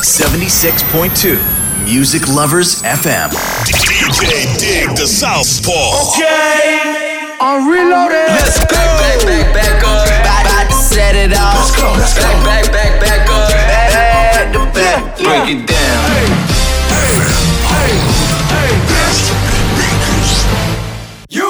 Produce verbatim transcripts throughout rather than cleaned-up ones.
セブンティシックスポイントツー Music Lovers エフエムディージェー Dig the Southpaw. Okay, I'm reloaded. Let's go. Back, back, back, back up. About to set it off. Let's go, let's go. Back, back, back, back up. Back to back. Break yeah. it down. Hey, hey, hey, hey. You.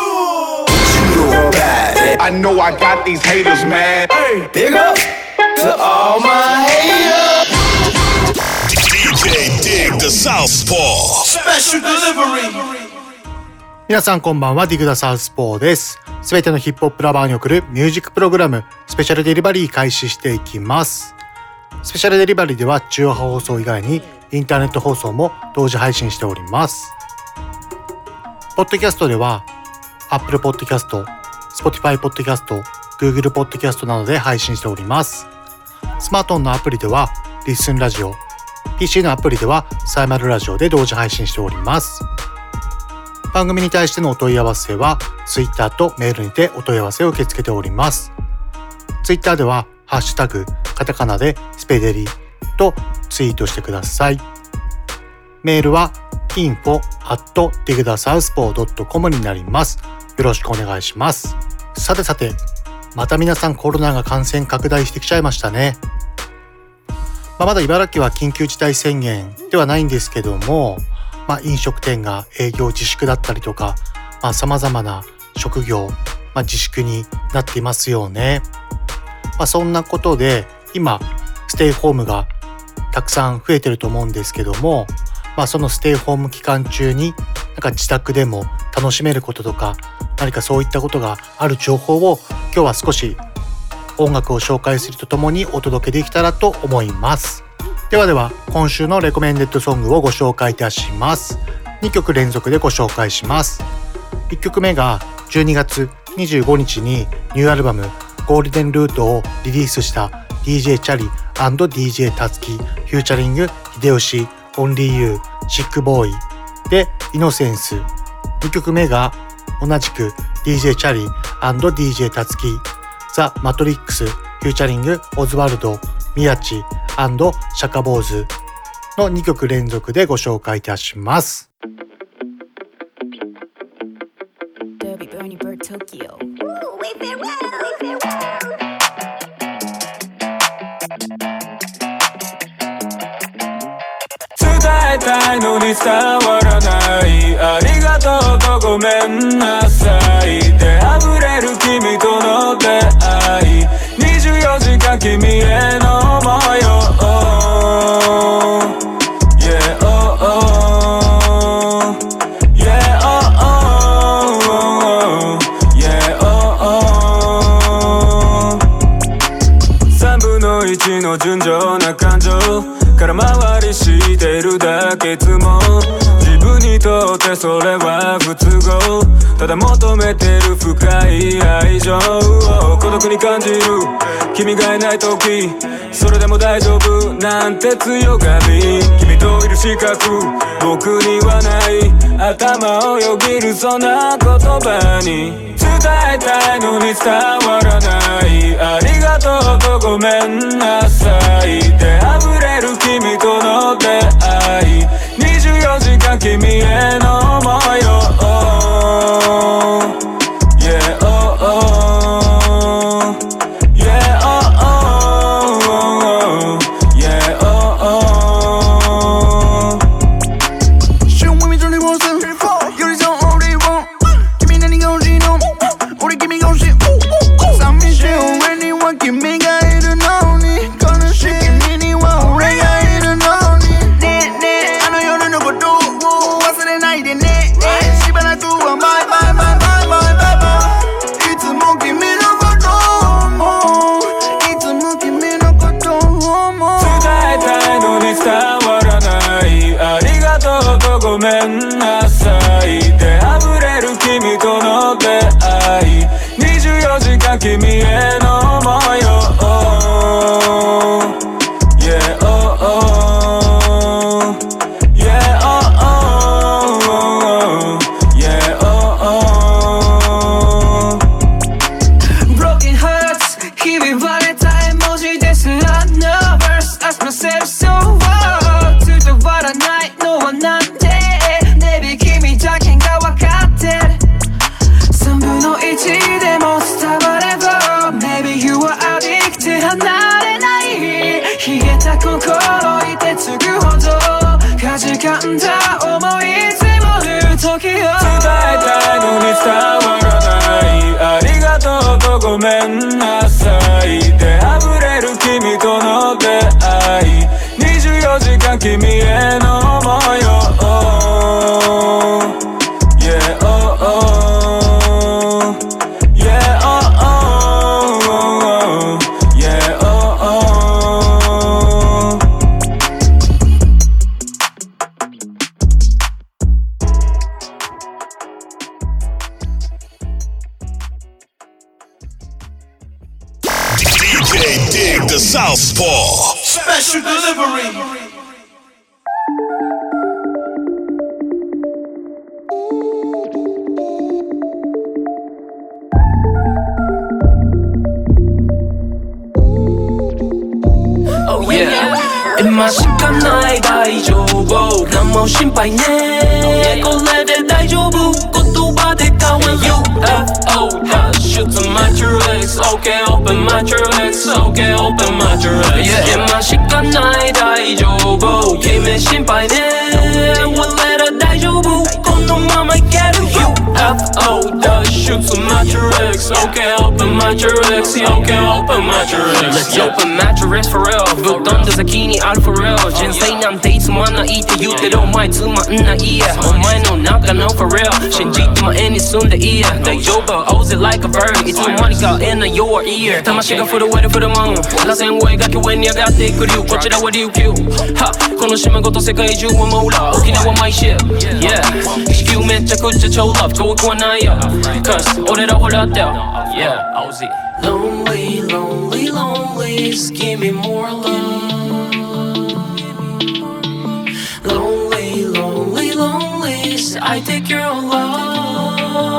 I know I got these haters, man. Hey, big up to all my haters. ディージェー Dig the Southpaw. Special delivery. 皆さんこんばんは、ディグダサウスポーです。すべてのヒップホップラバーに送るミュージックプログラムスペシャルデリバリー開始していきます。スペシャルデリバリーでは中波放送以外にインターネット放送も同時配信しております。ポッドキャストでは Apple Podcast、Spotify Podcast、Google Podcast などで配信しております。スマートフォンのアプリではリッスンラジオ、ピーシー のアプリではサイマルラジオで同時配信しております。番組に対してのお問い合わせは Twitter とメールにてお問い合わせを受け付けております。Twitter ではハッシュタグカタカナでスペデリとツイートしてください。メールは インフォ アット ディグダサウスポー ドットコム になります。よろしくお願いします。さてさて、また皆さんコロナが感染拡大してきちゃいましたね。まあ、まだ茨城は緊急事態宣言ではないんですけども、まあ、飲食店が営業自粛だったりとか、まあ、様々な職業、まあ、自粛になっていますよね。まあ、そんなことで今ステイホームがたくさん増えてると思うんですけども、まあ、そのステイホーム期間中になんか自宅でも楽しめることとか何かそういったことがある情報を今日は少し音楽を紹介するとともにお届けできたらと思います。ではでは今週のレコメンデッドソングをご紹介いたします。にきょく連続でご紹介します。いっきょくめがじゅうにがつにじゅうごにちにニューアルバムゴールデンルートをリリースした ディージェー チャリ&ディージェー タツキフューチャリング秀吉オンリーユーシックボーイでイノセンス。にきょくめが同じく ディージェー チャリ&ディージェー タツキザ・マトリックスフューチャリングオズワルド宮地&シャカボーズのにきょく連続でご紹介いたします。 伝えたいのに伝わらない、ありがとうとごめんなさいで溢れる君との出会い、にじゅうよじかん君への想いを Yeah oh oh Yeah oh oh Yeah oh oh さんぶんのいちの純情な感情空回りしているだけつも自分にとってそれは不都合、ただ求めてる深い愛情を孤独に感じる君がいない時、それでも大丈夫なんて強がり、君といる資格僕にはない頭をよぎるそんな言葉に伝えたいのに伝わらない、ありがとうとごめんなさいで溢れる君との出会い、にじゅうよじかん君への想いを Yeah oh oh Yeah oh oh Yeah oh oh Show me twenty four seven You're the only one 君何が欲しいの俺君が欲しい寂しい俺には君がいるのに悲しい君には俺がいるのにねえねえあの夜のことを忘れないでねしばらくはバイバイバイバイバイバイバイいつも君のことを思ういつも君のことを思う伝えたいのに伝わらない、ありがとうとごめんなさいで溢れる君との出会い、にじゅうよじかん君への想いを Yeah oh oh Yeah oh oh Yeah oh oh Broken hearts ひび割れた絵文字です Not nervous Ask myself so what 心いてつぐほどかじかんだ想い積もる時を伝えたいのに伝わらないありがとうとごめんなさいで溢れる君との出会いにじゅうよじかん君への想いをYeah, oh, oh. Yeah, oh, oh. Yeah, oh, oh. D J Dig the Southpaw. Special delivery. 今しかない大丈夫何も心配ねこれで大丈夫言葉で変わる ユーエフオー that shoots a matrix Okay open matrix Okay open matrix yeah 今しかない大丈夫君心配ね俺ら大丈夫このままいける ユーエフオー that shoots a matrix Okay open matrix Okay open matrix Let's open matrix for real ぶっ飛んだ先にある for real 人生なんていつまんないって言ってるお前つまんないやお前の中の for real 信じて前に進んでいいや大丈夫 Oz it like a bird いつの間にか in your ear 魂が震える for the moon 螺旋を描き上に上がっていく竜こちらは琉球はこの島ごと世界中はモーラー沖縄マイシップ Yeah 地球めちゃくちゃ超ラブ遠くはないよ Cause 俺らほらってよ Yeah Oz Lonely lonely lonely Give me more love Lonely, lonely, lonely I take your love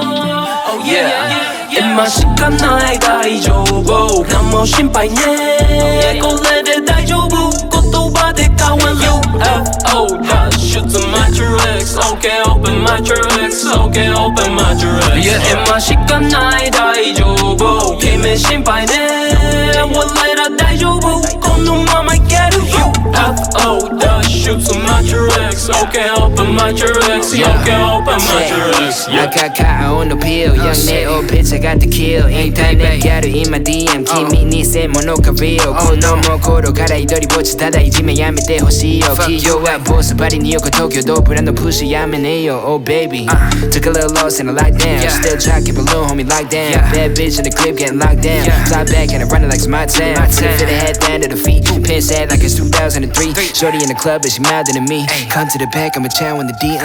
Oh yeah, yeah, yeah. 今しかない大丈夫何も心配ねこれで大丈夫言葉で変わる ユーエフオー that shoots a matrix Okay open matrix Okay open matrix yeah 今しかない大丈夫君心配ね俺ら大丈夫このままいける ユーエフオー that shoots a matrix Okay open matrix Okay open matrix yeah 赤か青のピル Young Neo ピッチャーgot the kill インターネットギャル今 ディーエム 君に偽物か real 子供頃から一人ぼっちただいじめやめてほしいよ企業はボスバリニューヨーク東京ドープラのプッシュやめねえよ Oh baby Took a little loss and I locked down Still tracking balloon homie locked down Bad bitch in the crib getting locked down Fly back and I run it like my town Fit the head down to the feet Pin sad like it's two thousand three Shorty in the club but she milder than me Come to the back I'ma chow in the D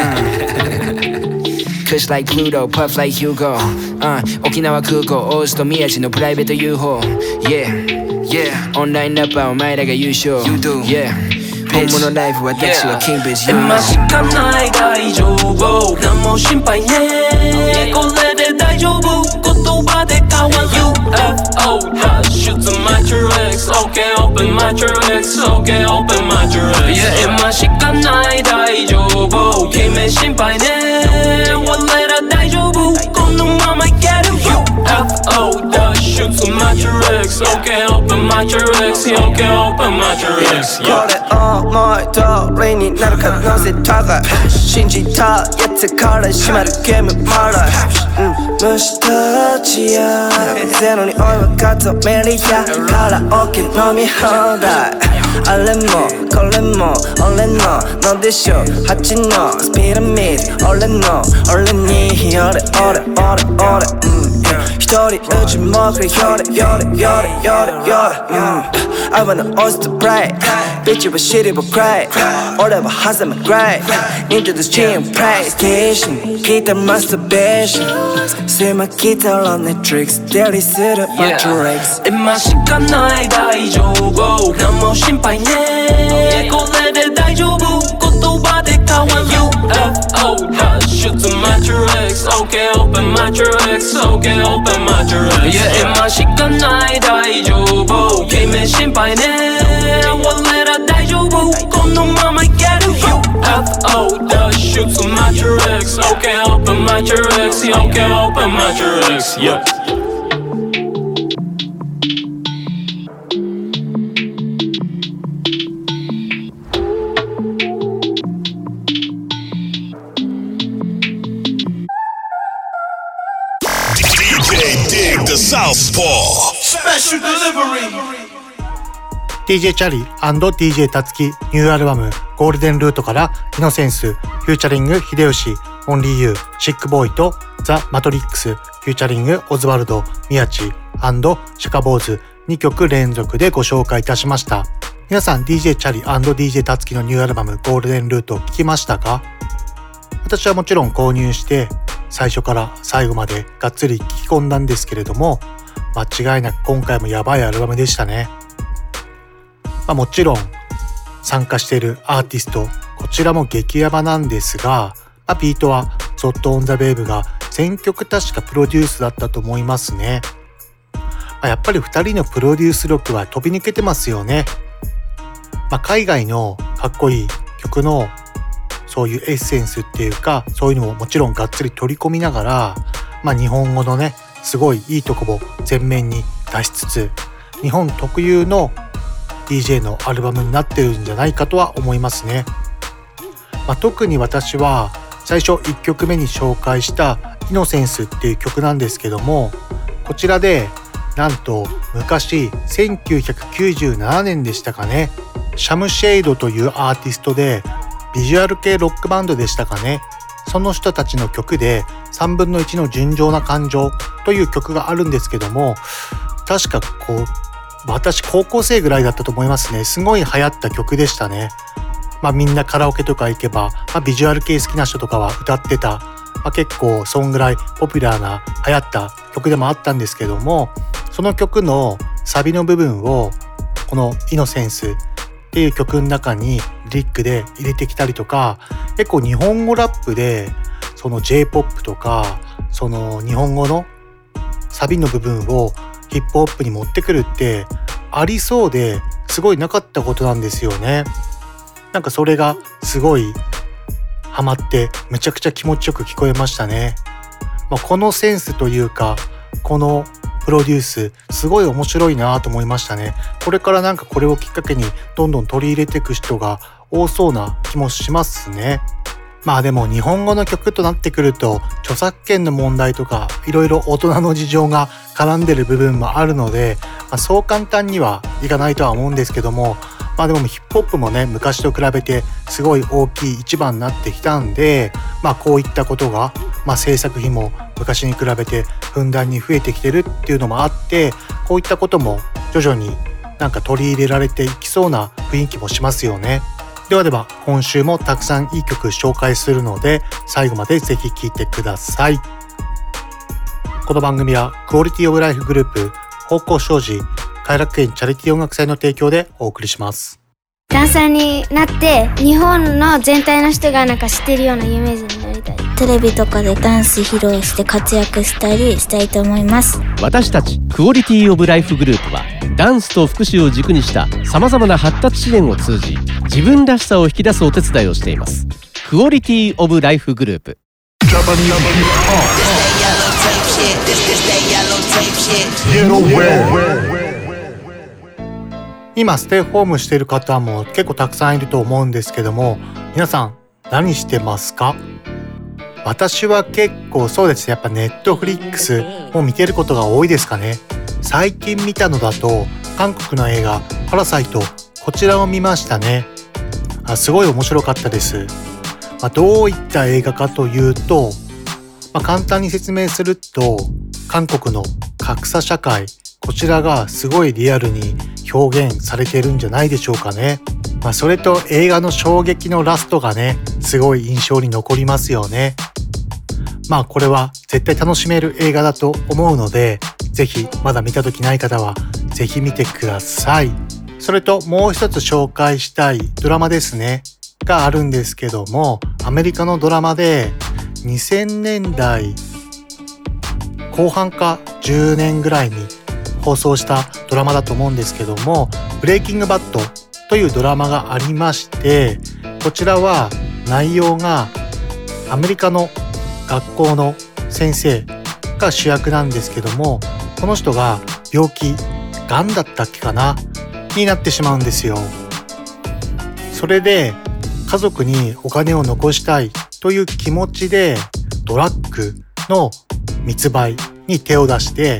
uh. Kush like Pluto, puff like Hugo uh, 沖縄空港オースト宮地のプライベート ユーフォー Yeah, yeah オンラインラッパーお前らが優勝 You do, yeah 本物ライフ私は King Bitch 今しかない大丈夫何も心配ねこれで大丈夫言葉で変わる ユーエフオー that shoots a matrix Okay open matrix Okay open matrix yeah 今しかない大丈夫君心配ね俺ら大丈夫このままいける ユーエフオー that shoots a matrix Okay open matrix Okay open matrix yeah これ思い通りになる可能性高い信じたやつから閉まるゲームマライ虫たちやゼロにおいは数メリやカラオケ飲み放題あれもこれも俺ののでしょ八のスピラミッド俺の俺に俺俺俺俺一人うちもくれよれよれよれよれよれ I wanna oyster break Bitch は shitty but cry 俺は挟む grey Into the stream PlayStation ギターマスターベーション狭きたらねトリックスデリするマトリックス今しかない大丈夫何も心配ねこれで大丈夫言葉で変わる ユーエフオー that shoots a matrix Okay open matrix Okay open matrix yeah 今しかない大丈夫君心配ね俺ら大丈夫このままいける ユーエフオー that shoots a matrix Okay open matrix Okay open matrix yeah Southpaw Special delivery ディージェー チャリー&ディージェー タツキニューアルバムゴールデンルートからイノセンスフューチャリング秀吉オンリーユーシックボーイとザ・マトリックスフューチャリングオズワルド宮地&シャカボーズにきょく連続でご紹介いたしました。皆さん ディージェー チャリー&ディージェー タツキのニューアルバムゴールデンルートを聞きましたか？私はもちろん購入して最初から最後までがっつり聞き込んだんですけれども、間違いなく今回もやばいアルバムでしたね。まあ、もちろん参加しているアーティストこちらも激ヤバなんですが、まあ、ビートはゾットオンザベーブが全曲確かプロデュースだったと思いますね。まあ、やっぱりふたりのプロデュース力は飛び抜けてますよね。まあ、海外のかっこいい曲のそういうエッセンスっていうかそういうのももちろんがっつり取り込みながら、まあ、日本語のねすごいいいとこを前面に出しつつ日本特有の ディージェー のアルバムになってるんじゃないかとは思いますね。まあ、特に私は最初いっきょくめに紹介したイノセンスっていう曲なんですけども、こちらでなんと昔せんきゅうひゃくきゅうじゅうななねんでしたかね、シャムシェイドというアーティストでビジュアル系ロックバンドでしたかね、その人たちの曲でさんぶんのいちの純情な感情という曲があるんですけども、確かこう私高校生ぐらいだったと思いますね。すごい流行った曲でしたね。まあみんなカラオケとか行けば、まあ、ビジュアル系好きな人とかは歌ってた、まあ、結構そんぐらいポピュラーな流行った曲でもあったんですけども、その曲のサビの部分をこのイノセンスっていう曲の中にリリックで入れてきたりとか、結構日本語ラップでその J-ポップ とかその日本語のサビの部分をヒップホップに持ってくるってありそうですごいなかったことなんですよね。なんかそれがすごいハマってめちゃくちゃ気持ちよく聞こえましたね。まあ、このセンスというかこのプロデュースすごい面白いなと思いましたね。これからなんかこれをきっかけにどんどん取り入れていく人が多そうな気もしますね。まあでも日本語の曲となってくると著作権の問題とかいろいろ大人の事情が絡んでる部分もあるので、まあ、そう簡単にはいかないとは思うんですけども、まあでもヒップホップもね昔と比べてすごい大きい一番になってきたんで、まあこういったことが、まあ、制作費も昔に比べてふんだんに増えてきてるっていうのもあって、こういったことも徐々になんか取り入れられていきそうな雰囲気もしますよね。ではでは今週もたくさんいい曲紹介するので最後までぜひ聴いてください。この番組はクオリティオブライフグループ方向障子偕楽園チャリティー音楽祭の提供でお送りします。 ダンサーになって日本の全体の人がなんか知ってるような有名人になりたい。 テレビとかでダンス披露して活躍したりしたいと思います。 私たちクオリティオブライフグループはダンスと福祉を軸にしたさまざまな発達支援を通じ自分らしさを引き出すお手伝いをしています。クオリティオブライフグループ。 今ステイホームしている方も結構たくさんいると思うんですけども、皆さん何してますか？私は結構そうですね、やっぱネットフリックスを見てることが多いですかね。最近見たのだと韓国の映画パラサイト、こちらを見ましたね。あ、すごい面白かったです。まあ、どういった映画かというと、まあ、簡単に説明すると韓国の格差社会、こちらがすごいリアルに表現されているんじゃないでしょうかね。まあ、それと映画の衝撃のラストがね、すごい印象に残りますよね。まあこれは絶対楽しめる映画だと思うので、ぜひまだ見た時ない方はぜひ見てください。それともう一つ紹介したいドラマですねがあるんですけども、アメリカのドラマでにせんねんだいこう半かじゅうねんぐらいに放送したドラマだと思うんですけども、ブレイキングバッドというドラマがありまして、こちらは内容がアメリカの学校の先生が主役なんですけども、この人が病気、がんだったっけかなになってしまうんですよ。それで家族にお金を残したいという気持ちでドラッグの密売に手を出して、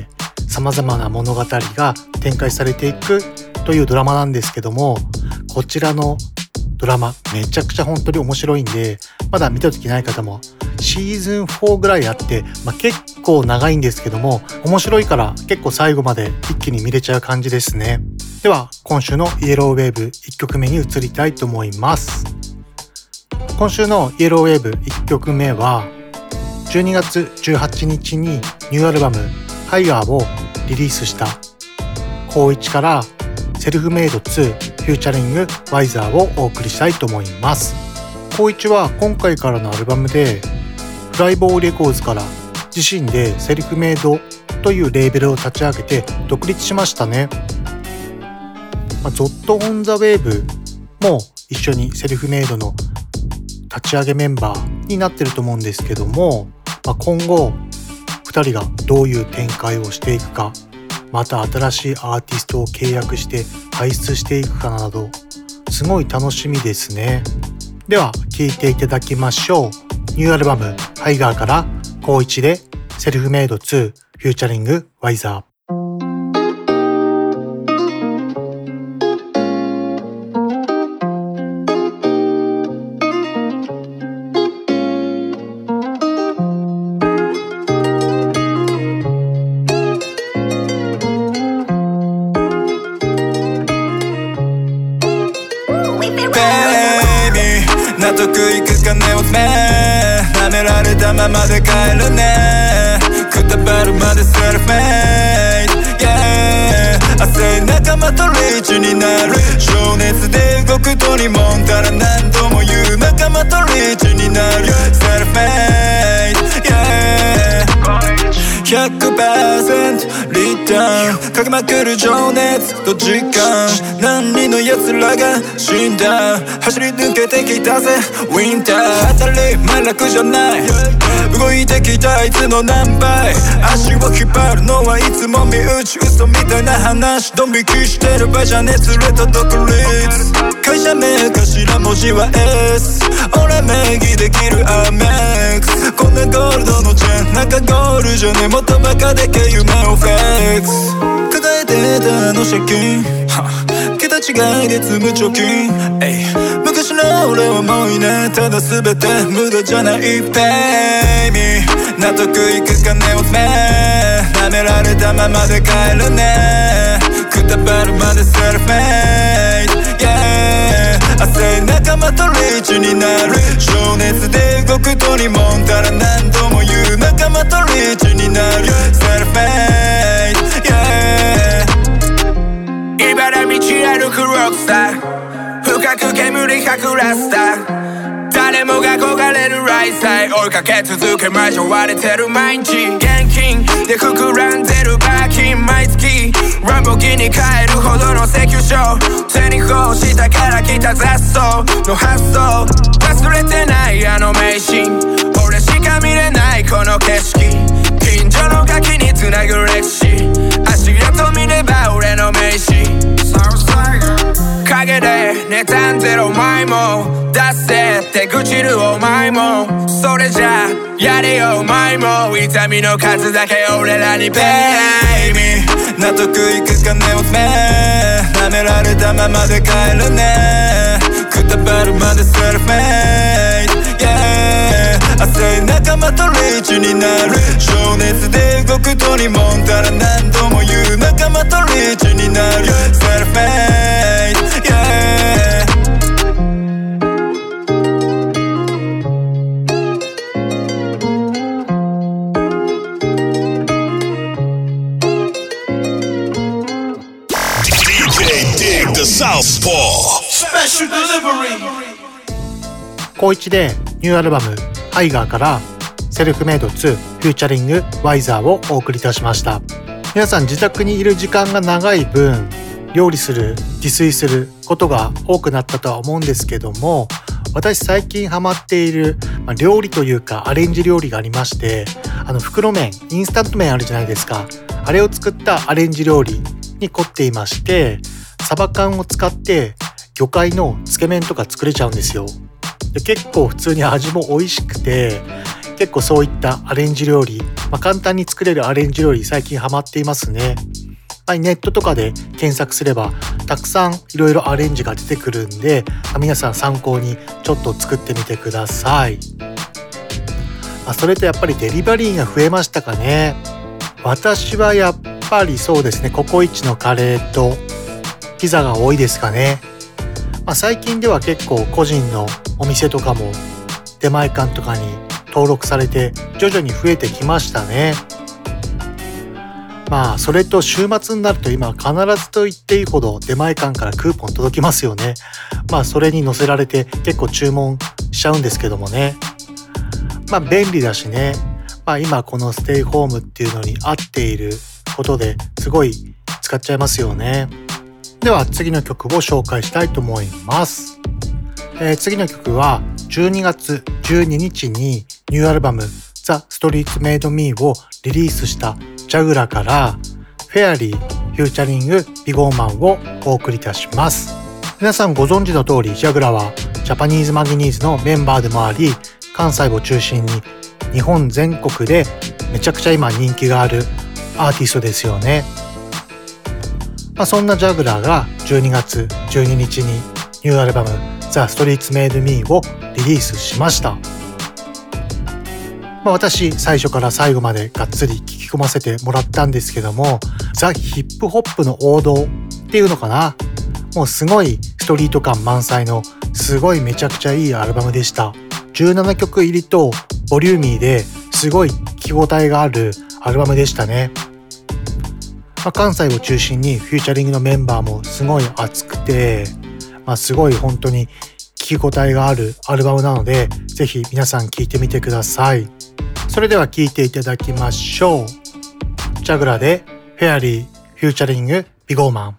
様々な物語が展開されていくというドラマなんですけども、こちらのドラマめちゃくちゃ本当に面白いんで、まだ見た時ない方もシーズンフォーぐらいあって、まあ、結構長いんですけども面白いから結構最後まで一気に見れちゃう感じですね。では今週のイエローウェーブいっきょくめに移りたいと思います。今週のイエローウェーブいっきょくめはじゅうにがつじゅうはちにちにニューアルバムハイガーをリリースしたコウイチからセルフメイドツーフューチャリングワイザーをお送りしたいと思います。コウイチは今回からのアルバムでフライボーレコーズから自身でセルフメイドというレーベルを立ち上げて独立しましたね。まあ、ゾットオンザウェーブも一緒にセルフメイドの立ち上げメンバーになってると思うんですけども、まあ、今後ふたりがどういう展開をしていくか、また新しいアーティストを契約して輩出していくかなどすごい楽しみですね。では聴いていただきましょう。ニューアルバムハイガーからコウイチでセルフメイドツーフューチャリングワイザー。 納得いくかねおめ舐められたままで帰るねくたばるまでセルフメイド、yeah、浅い仲間とリーチになる情熱で動くとにもんたら何度も言う仲間とリーチになるセルフメイド、yeah、ひゃくパーセント リターンかけまくる情熱と時間何人の奴らが死んだ走り抜けてきたぜウィンター当たり前楽じゃない動いてきたあいつの何倍足を引っ張るのはいつも身内嘘みたいな話ドン引きしてる場合じゃね連れと独立会社名頭文字は S 俺名義できるアメックスこんなゴールドのチェーン中ゴールじゃねもっとバカでけ夢をフェックス抱えてたあの借金桁違いで積む貯金昔の俺はもういねただ全て無駄じゃない Pay me 納得いくかねおめ舐められたままで帰るねくたばるまでセルフメイド、yeah、浅い仲間とリーチになる情熱で動くとにもんたら何度も言う仲間とリーチになるセルフメイド、yeah、茨道歩くロックスター深く煙隠らせた誰もが憧れるライフスタイル追いかけ続け交われてる毎日現金で膨らんでるバーキン毎月ランボギに買えるほどの請求書手にこうしたから来た雑草の発想忘れてないあの名シーン俺しか見れないこの景色近所のガキにつなぐ歴史足跡見れば俺の名刺陰で妬んでるお前も出せって愚痴るお前もそれじゃやれよお前も痛みの数だけ俺らに Pay me 納得いくかねおめ舐められたままで帰るねくたばるまでセルフメイド、yeah、浅い仲間とリーチになる情熱で動くとにもんたら何度も言う仲間とリーチになるセルフメイド、yeah、 コウイチでニューアルバムハイガーからセルフメイドツーフューチャリングワイザーをお送りいたしました。皆さん自宅にいる時間が長い分料理する自炊することが多くなったとは思うんですけども、私最近ハマっている料理というかアレンジ料理がありまして、あの袋麺インスタント麺あるじゃないですか、あれを作ったアレンジ料理に凝っていまして、サバ缶を使って魚介のつけ麺とか作れちゃうんですよ。で結構普通に味も美味しくて、 結構そういったアレンジ料理、まあ、簡単に作れるアレンジ料理最近ハマっていますね。まあ、ネットとかで検索すればたくさんいろいろアレンジが出てくるんで、まあ、皆さん参考にちょっと作ってみてください。まあ、それとやっぱりデリバリーが増えましたかね。私はやっぱりそうですね、ココイチのカレーとピザが多いですかね。まあ、最近では結構個人のお店とかも出前館とかに登録されて徐々に増えてきましたね。まあそれと週末になると今必ずと言っていいほど出前館からクーポン届きますよね。まあそれに載せられて結構注文しちゃうんですけどもね。まあ便利だしね。まあ今このステイホームっていうのに合っていることですごい使っちゃいますよね。では次の曲を紹介したいと思います。えー、次の曲はじゅうにがつじゅうににちにニューアルバム The Streets Made Me をリリースしたジャグラからフェアリーフューチャリングビゴーマンをお送りいたします。皆さんご存知の通りジャグラはジャパニーズマギニーズのメンバーでもあり、関西を中心に日本全国でめちゃくちゃ今人気があるアーティストですよね。まあ、そんなジャグラーがじゅうにがつじゅうににちにニューアルバム The Streets Made Me をリリースしました。まあ、私最初から最後までがっつり聞き込ませてもらったんですけども、ザ・ヒップホップの王道っていうのかな、もうすごいストリート感満載のすごいめちゃくちゃいいアルバムでした。じゅうななきょく入りとボリューミーですごい聞き応えがあるアルバムでしたね。まあ、関西を中心にフューチャリングのメンバーもすごい熱くて、まあ、すごい本当に聞き応えがあるアルバムなので、ぜひ皆さん聴いてみてください。それでは聴いていただきましょう。ジャグラでフェアリーフューチャリングビゴーマン。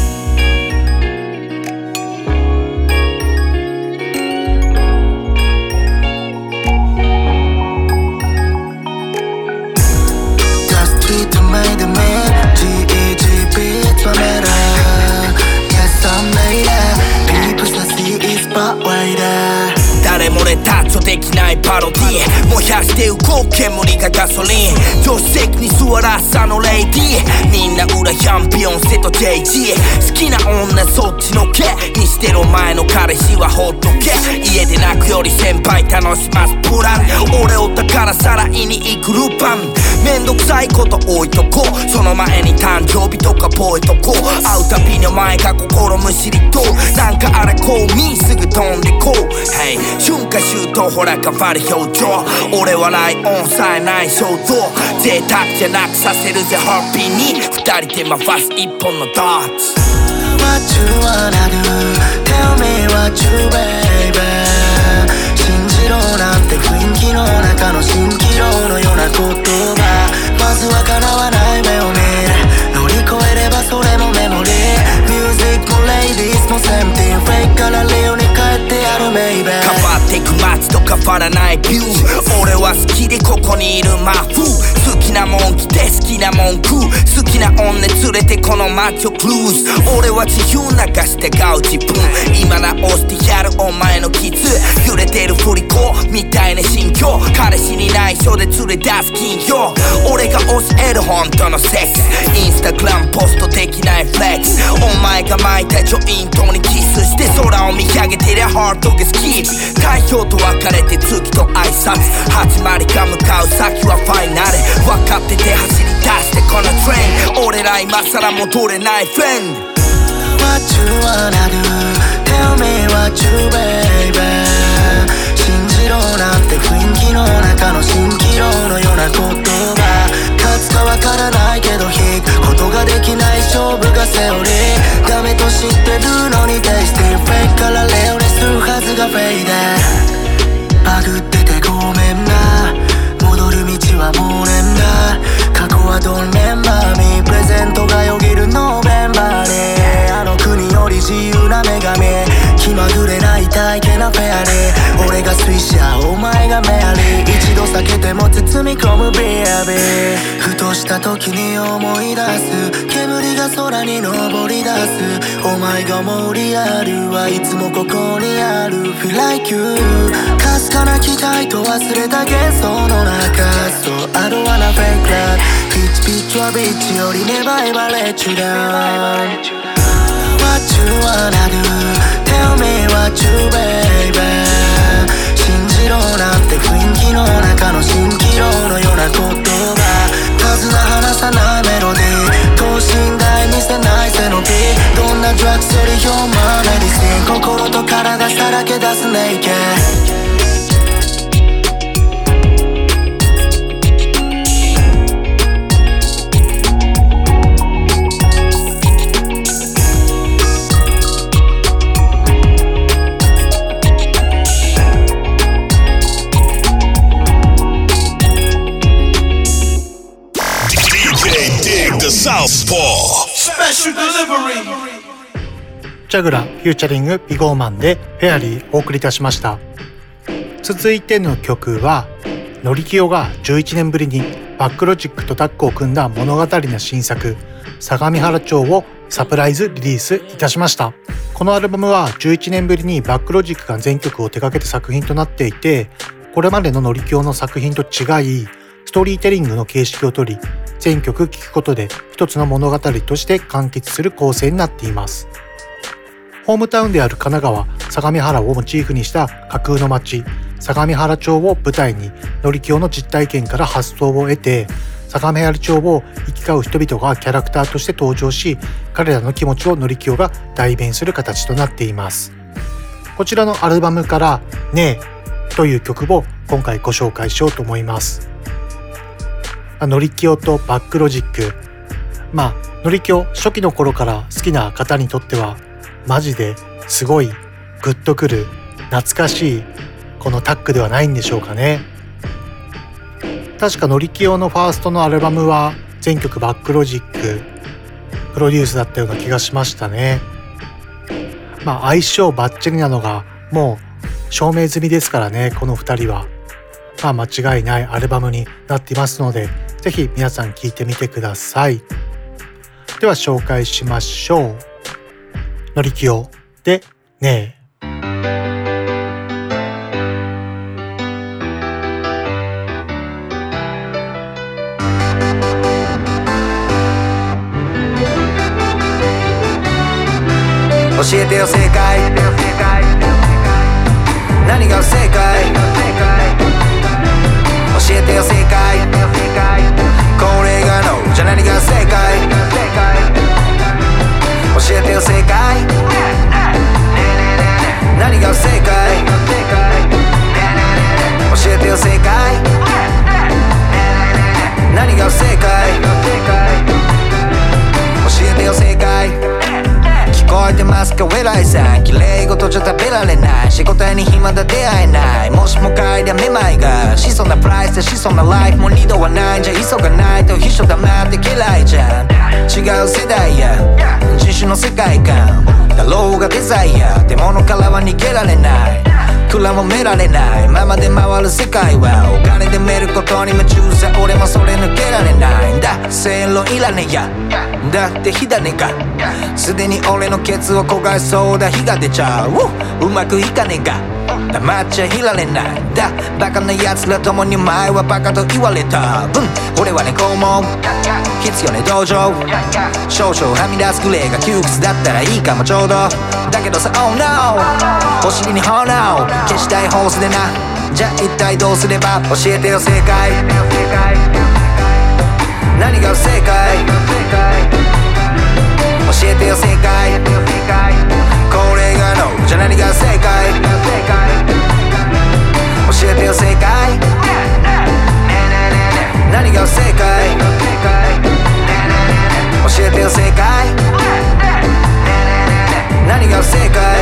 誰もねタッチできないパロディ、燃やして動く煙がガソリン、助手席に座らすあのレイディー、みんな裏チャンピオンセと ジェイジー、好きな女そっちのけにしてる前の彼氏はほっとけ、家で泣くより先輩楽しますプラン、俺を宝さらいに行くルパン、めんどくさいこと置いとこう、その前に誕生日とか覚えとこう、会うたびにお前が心むしりと、なんかあれこうみすぐ飛んでこう、hey、春夏秋冬ほら変わる表情、俺はライオンさえない衝動、贅沢じゃなくさせるぜハッピーに、二人で回す一本のドッツ。 What you wanna do? Tell me what you baby、 信じろなんて雰囲気の中の蜃気楼のような言葉、まずは叶わない目を見る、乗り越えればそれもメモリー、ミュージックもレイディースもセンティー、フェイクからレオに帰ってやるメイベー、 変わってく街と変わらないビュー、俺は好きでここにいるマフ、好きなもん着て好きなもん食う、好きな女連れてこの街をクルーズ、俺は自由流して買う自分、今直してやるお前の傷、揺れてる振り子みたいな心境、彼氏に内緒で連れ出す金曜、俺が教える本当のセックス、インスタグラムポストできないフレックス、お前が巻いたジョイントにキスして空を見上げてりゃハートがスキープ、太陽と別れて月と挨拶、始まりか向かう先はファイナル、分かってて走り出してこのトレイン、俺ら今更戻れないフレンド。 What you wanna do? Tell me what you baby、 信じろなんて雰囲気の中の蜃気楼のような言葉、勝つかわからないけど引くことができない勝負がセオリー、ダメと知ってるのにテイスティー、フェイクからレオにするはずがフェイデー、バグっててごめんな、戻る道はもうねんだ、過去はドンレンバーミー、プレゼントがよぎるノーベンバーに、あの国より自由な女神、気まぐれない体型なフェアリー、俺がスイシャーお前がメアリー、一度避けても包み込むビアビー、ふとした時に思い出す煙が空に昇り出す、お前が思うリアルはいつもここにある Feel like you、かすかな期待と忘れた幻想の中 So I don't wanna fake love ピッチピッチはビッチよりネバエバレッチュダウン What you wanna do Tell me what you baby 信じろなんて雰囲気の中の蜃気楼のような言葉数な話さないメロディー等身大見せない背伸びどんなドラッグスよりヒューマンメディシン心と体さらけ出すネイケッ Southpaw Special Delivery ジャグラフューチャリングビゴーマンでフェアリーお送りいたしました。続いての曲はノリキヨがじゅういちねんぶりにバックロジックとタッグを組んだ物語な新作相模原町をサプライズリリースいたしました。このアルバムはじゅういちねんぶりにバックロジックが全曲を手掛けた作品となっていて、これまでのノリキヨの作品と違いストーリーテリングの形式をとり全曲聴くことで一つの物語として完結する構成になっています。ホームタウンである神奈川相模原をモチーフにした架空の街相模原町を舞台にノリキヨの実体験から発想を得て相模原町を行き交う人々がキャラクターとして登場し彼らの気持ちをノリキヨが代弁する形となっています。こちらのアルバムからねえという曲を今回ご紹介しようと思います。ノリキヨとバックロジック、まあノリキヨ初期の頃から好きな方にとってはマジですごいグッとくる懐かしいこのタッグではないんでしょうかね。確かノリキヨのファーストのアルバムは全曲バックロジックプロデュースだったような気がしましたね。まあ相性バッチリなのがもう証明済みですからね。このふたりはまあ間違いないアルバムになっていますのでぜひ皆さん聴いてみてください。では紹介しましょう。ノリキヨでねえ。 教えてよ正解何が不正解教えてよ正解これがノーじゃ何が正解教えてよ正解何が不正解教えてよ正解何が不正解教えてよ正解聞こえてますかウェライさん綺麗事じゃ食べられない仕事に暇だ出会えないもしも嗅いだめまいがしそうなプライスでしそうなライフも二度はないんじゃ急がないと秘書黙って嫌いじゃん違う世代や人種の世界観だろうがデザイアで物からは逃げられない蔵もめられないままで回る世界はお金でめることに夢中さ俺もそれ抜けられないんだ正論いらねやだって火種がすでに俺のケツを焦がしそうだ火が出ちゃううまくいかねえが黙っちゃいられないんだバカな奴らともに前はバカと言われた分俺はねこうも必要ね道場少々はみ出すグレーが窮屈だったらいいかもちょうどだけどさ Oh no お尻に炎消したいホースでなじゃあ一体どうすれば教えてよ正解何が不正解教えてよ正解これがノーじゃ何が正解教えてよ正解何が不正解教えてよ正解何が不正解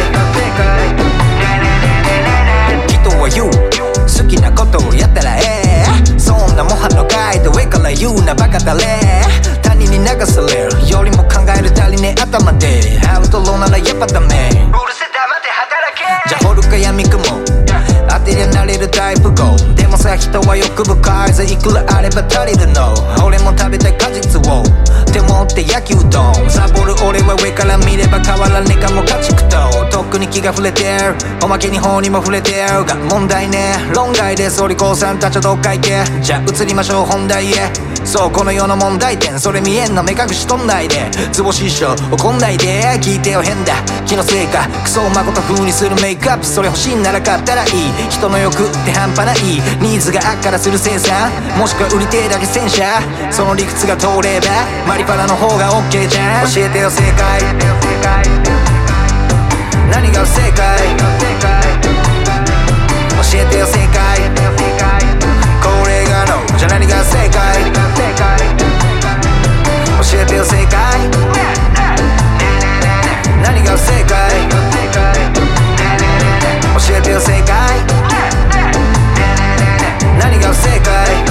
人は言う好きなことをやったらええそんな模範のガイド上から言うなバカだれ他人に流されるよりも考える足りねえ頭でアウトローならやっぱダメうるせ黙って働けじゃあ掘るか闇雲当てりゃなれるタイプゴーでもさ人は欲深いぜいくらあれば足りるの俺も食べたい果実をって思って焼きうどんサボる俺は上から見れば変わらねえかも家畜ととっくに気が触れてる。おまけに法にも触れてるが問題ね。論外ですお利口さんたちはどっか行け。じゃあ移りましょう本題へ。そうこの世の問題点それ見えんの目隠しとんないで。図星師匠怒んないで聞いてよ変だ気のせいか。クソまこと風にするメイクアップそれ欲しいなら買ったらいい。人の欲って半端ないニーズがあっからする生産もしくは売りてえだけ戦車。その理屈が通ればマリパラの方が OK じゃん。教えてよ正解何が不正解教えてよ正解これがのじゃ何が正解教えてよ正解何が不正解教えてよ正解何が不正解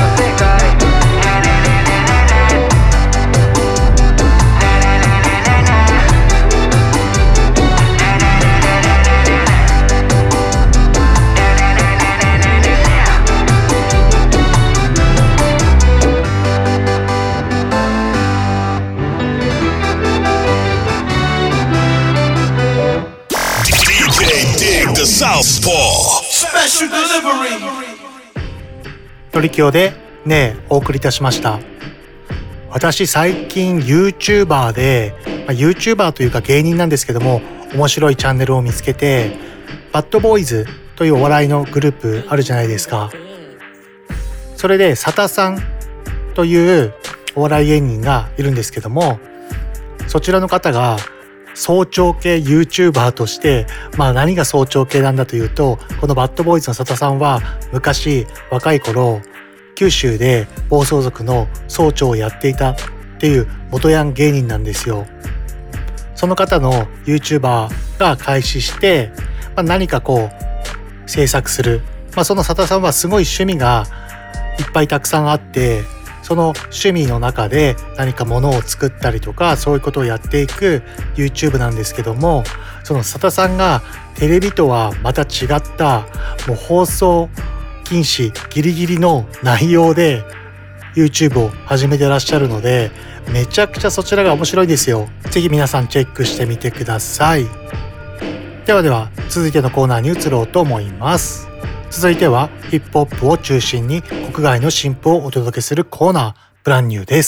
トリキオでねえお送りいたしました。私最近 YouTuber で、まあ、YouTuber というか芸人なんですけども面白いチャンネルを見つけて、バッドボーイズというお笑いのグループあるじゃないですか。それでサタさんというお笑い芸人がいるんですけども、そちらの方が早朝系 YouTuber として、まあ何が早朝系なんだというと、このバッドボーイズの佐田さんは昔若い頃九州で暴走族の総長をやっていたっていう元ヤン芸人なんですよ。その方の YouTuber が開始して、まあ、何かこう制作する、まあ、その佐田さんはすごい趣味がいっぱいたくさんあって、その趣味の中で何か物を作ったりとかそういうことをやっていく YouTube なんですけども、その佐田さんがテレビとはまた違ったもう放送禁止ギリギリの内容で YouTube を始めてらっしゃるので、めちゃくちゃそちらが面白いですよ。ぜひ皆さんチェックしてみてください。ではでは続いてのコーナーに移ろうと思います。続いてはヒップホップを中心に国外の新譜をお届けするコーナー、ブランニューです。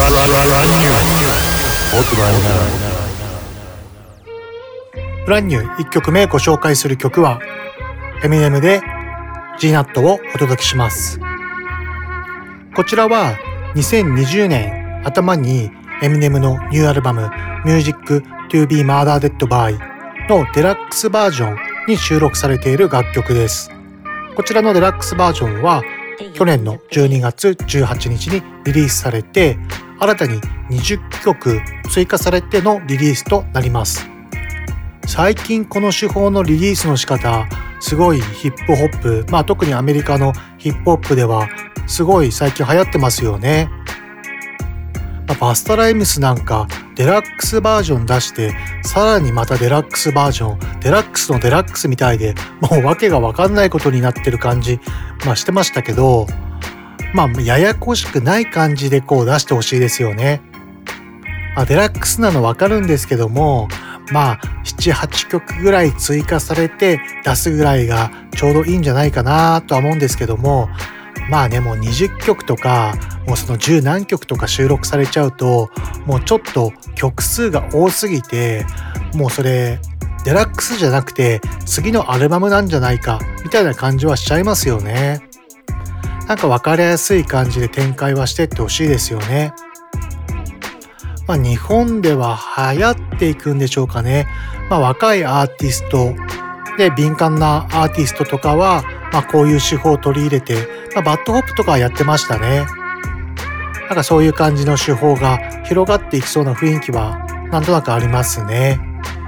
ブランニューいっきょくめご紹介する曲はエミネムで G ナットをお届けします。こちらはにせんにじゅうねん頭にエミネムのニューアルバム Music to be Murdered by のデラックスバージョンに収録されている楽曲です。こちらのデラックスバージョンは去年のじゅうにがつじゅうはちにちにリリースされて、新たににじゅっきょく追加されてのリリースとなります。最近この手法のリリースの仕方、すごいヒップホップ、まあ特にアメリカのヒップホップではすごい最近流行ってますよね。まあ、バスタライムスなんかデラックスバージョン出してさらにまたデラックスバージョン、デラックスのデラックスみたいでもう訳が分かんないことになってる感じ、まあしてましたけど、まあややこしくない感じでこう出してほしいですよね。まあ、デラックスなの分かるんですけども、まあななはちきょくぐらい追加されて出すぐらいがちょうどいいんじゃないかなとは思うんですけども、まあねもうにじゅっきょくとかもうそのじゅうなんきょくとか収録されちゃうともうちょっと曲数が多すぎて、もうそれデラックスじゃなくて次のアルバムなんじゃないかみたいな感じはしちゃいますよね。なんか分かりやすい感じで展開はしてってほしいですよね。まあ日本では流行っていくんでしょうかね。まあ若いアーティストで敏感なアーティストとかはまあこういう手法を取り入れて、まあ、バッドホップとかはやってましたね。なんかそういう感じの手法が広がっていきそうな雰囲気はなんとなくありますね。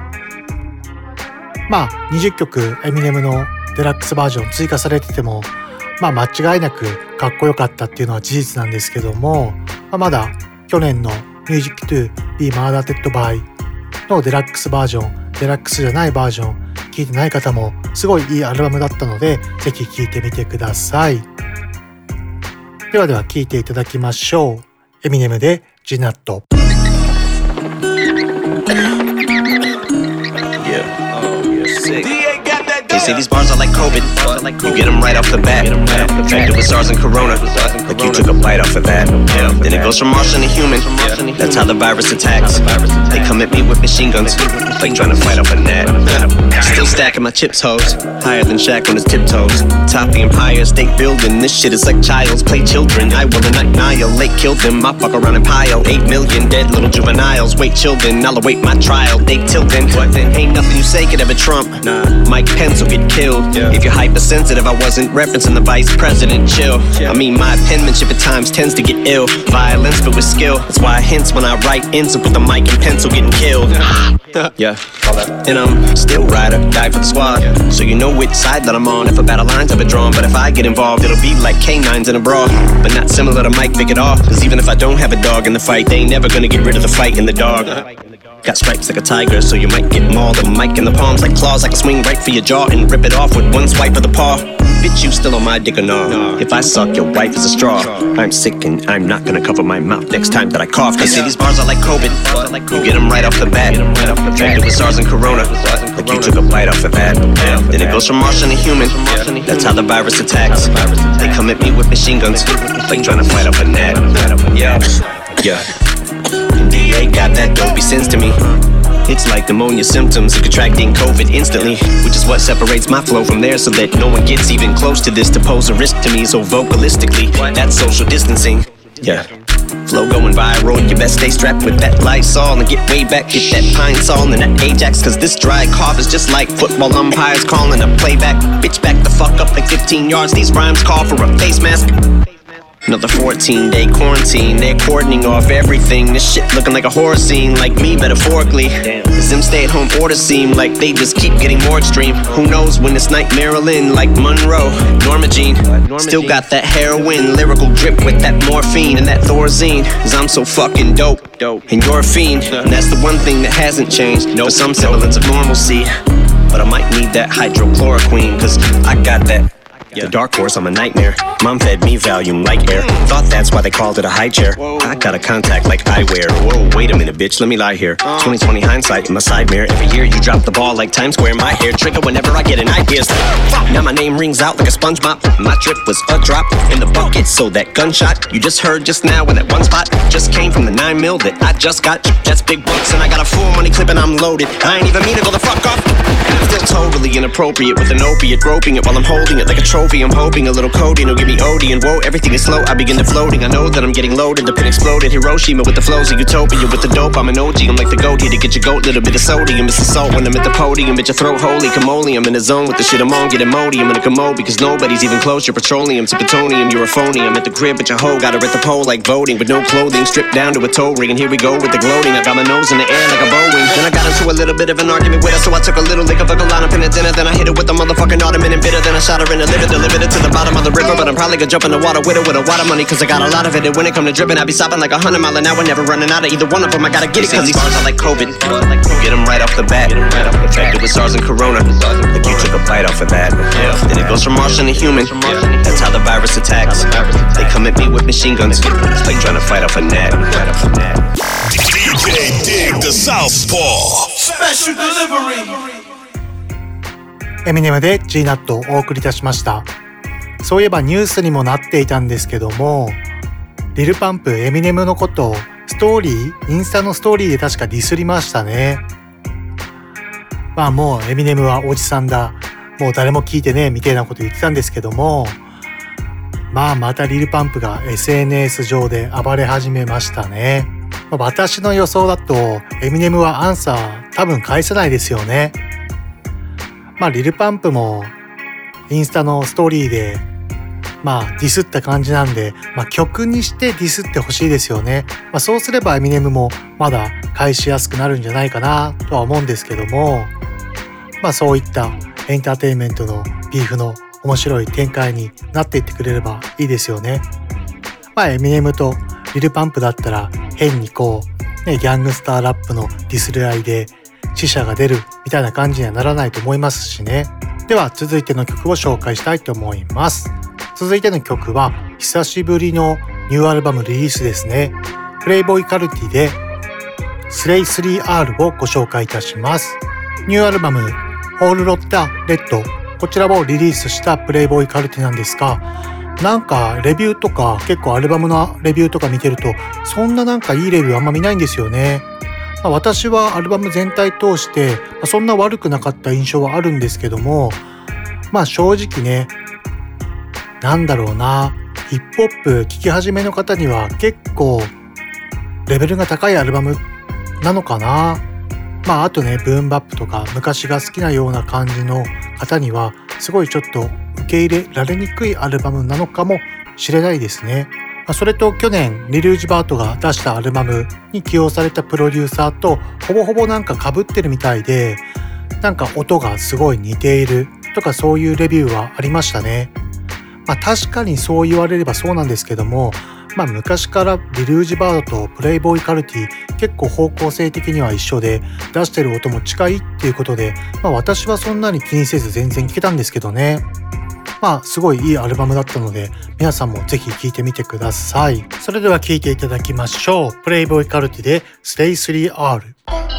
まあにじゅっきょくエミネムのデラックスバージョン追加されてても、まあ間違いなくかっこよかったっていうのは事実なんですけども、まあ、まだ去年の Music to be Murdered by のデラックスバージョン、デラックスじゃないバージョン聞いてない方もすごいいいアルバムだったので、ぜひ聴いてみてください。ではでは聴いていただきましょう。エミネムで G ナット。 Yeah. They say these bars are like COVID. You get them right off the bat. Infected with SARS and Corona. Like you took a bite off of that. Then it goes from Martian to human. That's how the virus attacks. They come at me with machine guns, like trying to fight off a net. Still stacking my chips, hoes. Higher than Shaq on his tiptoes. Top the Empire State Building. This shit is like child's play children. I will annihilate, kill them. I fuck around and pile. Eight million dead little juveniles. Wait, children, I'll await my trial. They tilting. What then? Ain't nothing you say could ever trump. Nah, Mike Pence will get killed. Yeah. If you're hypersensitive, I wasn't referencing the vice president. Chill. Yeah. I mean, my penmanship at times tends to get ill. Violence, but with skill. That's why I hints when I write ends up with the mic and pencil getting killed. Yeah. And I'm still ride or die for the squad. Yeah. So you know which side that I'm on. If a battle line's ever drawn, but if I get involved, it'll be like canines in a brawl. But not similar to Mike Vick at all. Cause even if I don't have a dog in the fight, they ain't never gonna get rid of the fight in the dog. Got stripes like a tiger, so you might get mauled. A mic in the palms like claws, I can swing right for your jaw and rip it off with one swipe of the paw. Bitch, you still on my dick or no? If I suck, your wife is a straw. I'm sick and I'm not gonna cover my mouth next time that I cough. They say these bars are like COVID. You get them right off the bat. Infected with SARS and Corona. Like you took a bite off of that. Then it goes from Martian to human. That's how the virus attacks. They come at me with machine guns, like trying to fight off a net. Yeah, yeah. D A got that dopey sense to me. It's like pneumonia symptoms of contracting COVID instantly, which is what separates my flow from theirs, so that no one gets even close to this to pose a risk to me. So vocalistically, that's social distancing. Yeah. Flow going viral, you best stay strapped with that Lysol and get way back, get that Pine Sol and that Ajax, cause this dry cough is just like football umpires calling a playback. Bitch, back the fuck up like fifteen yards, these rhymes call for a face mask. Another fourteen day quarantine, they're cordoning off everything. This shit looking like a horror scene, like me metaphorically. Cause them stay at home orders seem like they just keep getting more extreme. Who knows when it's night Maryland, like Monroe, Norma Jean. Still got that heroin, lyrical drip with that morphine and that Thorazine. Cause I'm so fucking dope, and you're a fiend. And that's the one thing that hasn't changed, for some semblance of normalcy. But I might need that hydrochloroquine, cause I got that. The dark horse, I'm a nightmare. Mom fed me Valium like air. Thought that's why they called it a high chair. I got a contact like eyewear. Whoa, wait a minute, bitch, let me lie here. twenty twenty hindsight in my side mirror. Every year you drop the ball like Times Square. My hair trigger whenever I get an idea. Now my name rings out like a sponge mop. My trip was a drop in the bucket, so that gunshot you just heard just now in that one spot just came from the nine mil that I just got. That's big bucks and I got a full money clip and I'm loaded. I ain't even mean to go the fuck off. Still totally inappropriate with an opiate, groping it while I'm holding it like a trophy. I'm hoping a little codeine will give me O D, and whoa, everything is slow. I begin to floating. I know that I'm getting loaded. The pin exploded. Hiroshima with the flows of utopia. With the dope, I'm an O G. I'm like the goat here to get your goat. Little bit of sodium. It's the salt when I'm at the podium. Bitch, your throat holy. Camoli. I'm in the zone with the shit I'm on. Get Modi. I'm in a commode because nobody's even close. You're petroleum to plutonium. You're a phony. I'm at the crib, but your hoe got her at the pole like voting with no clothing. Stripped down to a toe ring. And here we go with the gloating. I got my nose in the air like a Boeing. Then I got into a little bit of an argument with her, so I took a little lick of a colada pin at dinner. Then I hit it with the motherfucking ottoman and bitter. Then I shot her in the liver, delivered it to the bottom of the river. But I'm probably gonna jump in the water with it with a water money, cause I got a lot of it. And when it come to dripping, I be stopping like a hundred mile an hour. Never running out of either one of them. I gotta get it, cause these bars are like COVID. Get them right off the bat. Infected with SARS and Corona. Like you took a bite off of that. Then it goes from Martian to human. That's how the virus attacks. They come at me with machine guns, like trying to fight off a net. D J Dig the Southpaw Special Delivery。 エミネムで G ナットをお送りいたしました。そういえばニュースにもなっていたんですけども、リルパンプエミネムのことをストーリーインスタのストーリーで確かディスりましたね。まあもうエミネムはおじさんだ、もう誰も聞いてねみたいなこと言ってたんですけども、まあまたリルパンプが エスエヌエス 上で暴れ始めましたね。まあ、私の予想だとエミネムはアンサー多分返せないですよね。まあリルパンプもインスタのストーリーでまあディスった感じなんで、まあ曲にしてディスってほしいですよね。まあそうすればエミネムもまだ返しやすくなるんじゃないかなとは思うんですけども、まあそういったエンターテインメントのビーフの面白い展開になっていってくれればいいですよね。まあエミネムとリルパンプだったら変にこう、ね、ギャングスターラップのディスり合いで死者が出るみたいな感じにはならないと思いますしね。では続いての曲を紹介したいと思います。続いての曲は久しぶりのニューアルバムリリースですね。プレイボーイカルティでスレイ スリーアール をご紹介いたします。ニューアルバムオールロッタレッド、こちらをリリースしたプレイボーイカルティなんですが、なんかレビューとか結構アルバムのレビューとか見てるとそんななんかいいレビューあんま見ないんですよね。まあ、私はアルバム全体通して、まあ、そんな悪くなかった印象はあるんですけども、まあ正直ね、なんだろうな、ヒップホップ聴き始めの方には結構レベルが高いアルバムなのかな。まああとね、ブーンバップとか昔が好きなような感じの方にはすごいちょっと受け入れられにくいアルバムなのかもしれないですね。それと去年リルージバートが出したアルバムに起用されたプロデューサーとほぼほぼなんか被ってるみたいで、なんか音がすごい似ているとかそういうレビューはありましたね。まあ確かにそう言われればそうなんですけども、まあ昔からリルージバードとプレイボーイカルティ結構方向性的には一緒で出してる音も近いっていうことで、まあ私はそんなに気にせず全然聴けたんですけどね。まあすごいいいアルバムだったので皆さんもぜひ聴いてみてください。それでは聴いていただきましょう。プレイボーイカルティで Stay スリーアール。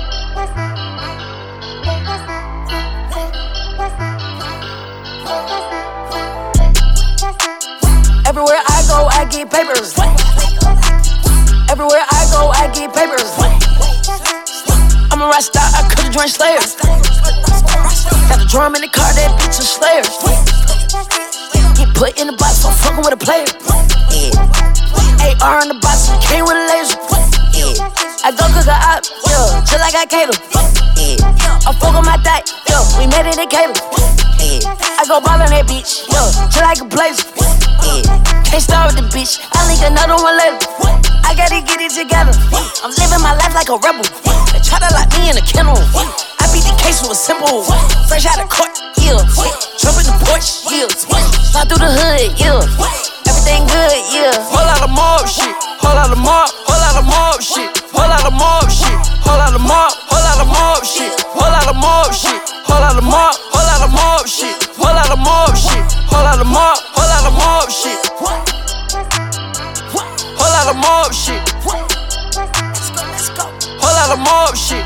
Everywhere I go, I get papers. Everywhere I go, I get papers. I'm a rock star, I could've joined Slayer. Got a drum in the car, that bitch a Slayer. Get put in the box, so I'm fucking with a player. Yeah. A R in the box, came with a laser. Yeah. I go cook a op, yeah, till I got Caleb. Yeah. I fuck on my thigh, yo, we made it in Caleb. Yeah. I go ball on that bitch, yo, till I can blaze. Yeah. Can't start with the bitch, I link another one later. I gotta get it together. I'm living my life like a rebel. They try to lock me in a kennel. I beat the case with a simple. Fresh out of court, yeah. Jump in the porch, yeah. Slide through the hood, yeah. Everything good, yeah. Whole lot of mob shit, whole lot of mob, whole lot of mob shit, whole lot of mob shit, whole lot of mob, whole lot of mob shit, whole lot of mob shit, whole lot of mob, whole lot of mob shit, whole lot of mob shit, whole lot of mob, whole lot of mob shit, whole lot of mob shit, whole lot of mob shit,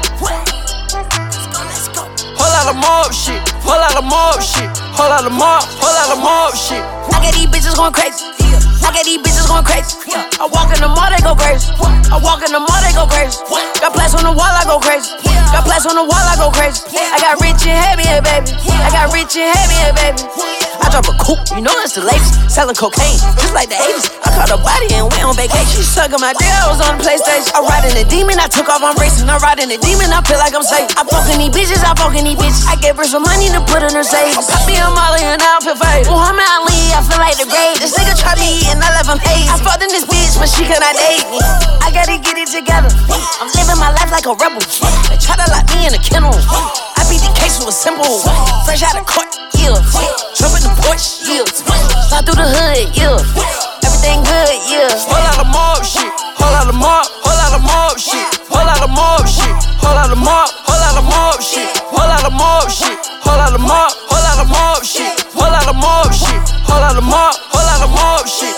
whole lot of mob shit, whole lot of mob shit, whole lot of mob, whole lot of mob shit. I got these bitches going crazy. I got these bitches going crazy. I walk in the mall, they go crazy. I walk in the mall, they go crazy. Got plaques on the wall, I go crazy. Got plaques on the wall, I go crazy. I got rich and heavy, yeah, baby. I got rich and heavy, yeah, baby. I drop a coupe, you know it's the latest. Selling cocaine, just like the eighties. I caught a body and went on vacation. She sucking my dick, I was on the PlayStation. I ride in the demon, I took off, I'm racing. I ride in the demon, I feel like I'm safe. I fucking these bitches, I fucking these bitches. I gave her some money to put in her savings. I be a Molly and I feel fade. Muhammad Ali, I feel like the grave. This nigga try me and I left him hazy. I fucked in this bitch, but she cannot date me. I gotta get it together. I'm living my life like a rebel. They try to lock me in a kennel. I beat the case with a simple. Fresh out of court, yeah. Jump in the porch, yeah. Slide through the hood, yeah. Everything good, yeah. Whole lot of mob shit, whole lot of mob, whole lot of mob shit, whole lot of mob shit, whole lot of mob, whole lot of mob shit, whole lot of mob shit, whole lot of mob, whole lot of mob shit, whole lot of mob shit, whole lot of mob, whole lot of mob shit,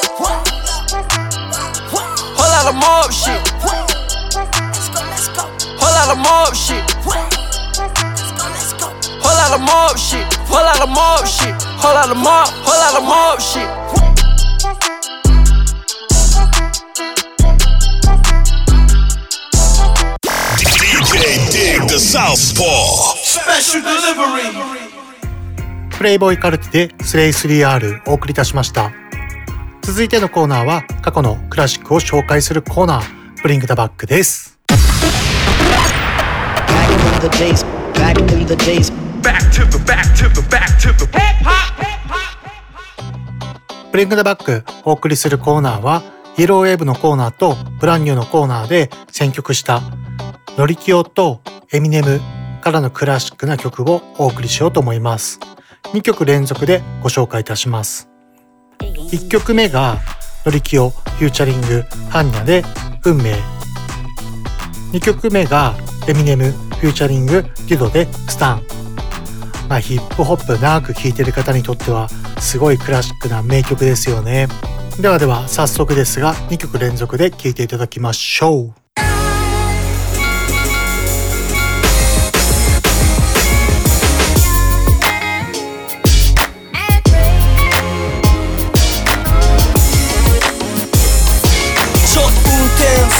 whole lot of mob shit, whole lot of mob shit, whole lot of mob shit, whole lot of mob shit, whole lot of mob, whole lot of mob shit. Dig the Southpaw Special Delivery プレイボーイカルティで スレイスリーアール お送りいたしました。続いてのコーナーは過去のクラシックを紹介するコーナー Bring the Back です。 Back to the days, back to the days, back to the back to the back to the hip hop Bring the Back お送りするコーナーはイエローウェーブのコーナーとブランニューのコーナーで選曲したノリキオとエミネムからのクラシックな曲をお送りしようと思います。にきょく連続でご紹介いたします。いっきょくめがノリキオフューチャリングハンニャで運命。にきょくめがエミネムフューチャリングデュドでスタン。まあ、ヒップホップ長く聴いてる方にとってはすごいクラシックな名曲ですよね。ではでは早速ですがにきょく連続で聴いていただきましょう。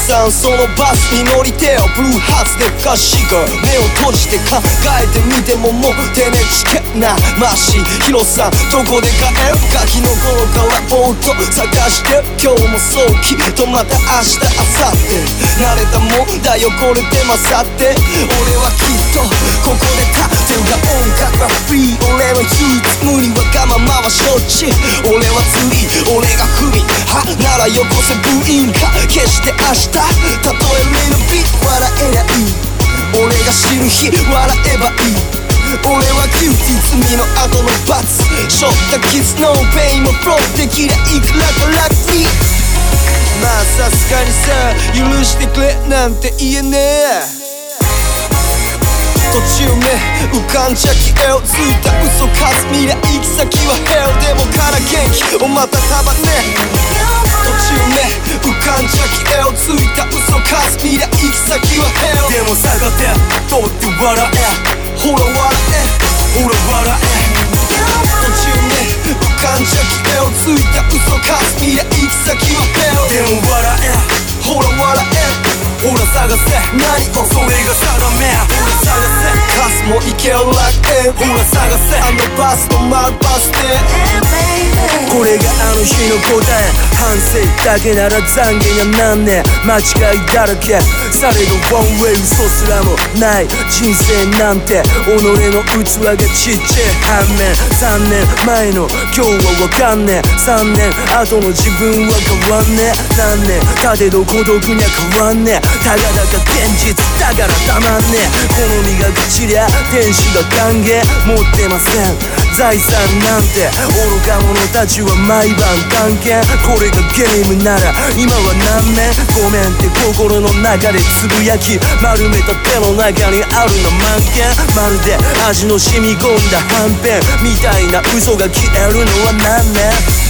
さんそのバスに乗りてよブルーハーツでふかしが目を閉じて考えてみてももう手ねちけなマシヒロさんどこで買えるガキの頃からぼーっと探して今日もそうきっとまた明日明後日慣れたもんだよこれで勝って俺はきっとここで立ってるが音楽はフリー俺の唯一無二わがままは承知俺は釣り俺が不憫はならよこせ部員か決して明日たとえリルビー笑えりゃいい俺が死ぬ日笑えばいい俺はキューティー罪の後の罰ショットキスのペインもフローできりゃいくらか楽にまあさすがにさ許してくれなんて言えねえ途中目浮かんじゃ消えをついた嘘数未来行き先はヘルでもから元気をまた束ね途中目浮かんじゃ消えをついた嘘数未来行き先はヘルでも下がって通って笑えほら笑えほら笑え途中目浮かんじゃ消えをついた嘘数未来行き先はヘルでも笑えほら笑えほら探せ何をそれが定めほら探せカスもいける楽園ほら探せあのバスの丸バス停これがあの日の答え反省だけなら懺悔がなんねえ間違いだらけされどワンウェイ嘘すらもない人生なんて己の器がちっちゃい反面さんねんまえの今日はわかんねえさんねん後の自分は変わんねえ何年たてど孤独には変わんねえたかだか現実だからたまんねえ好みが愚痴りゃ天使が歓迎持ってません財産なんて愚か者たちは毎晩探検これがゲームなら今は何年ごめんって心の中でつぶやき丸めた手の中にあるの満件まるで味の染み込んだはんぺんみたいな嘘が消えるのは何年